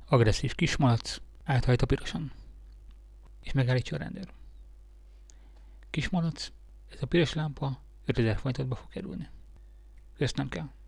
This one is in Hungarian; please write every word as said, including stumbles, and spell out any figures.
Agresszív kismalac áthajt a piroson, és megállítja a rendőr. Kismalac, ez a piros lámpa ötezer forintot be fog kerülni. Köszönöm kell.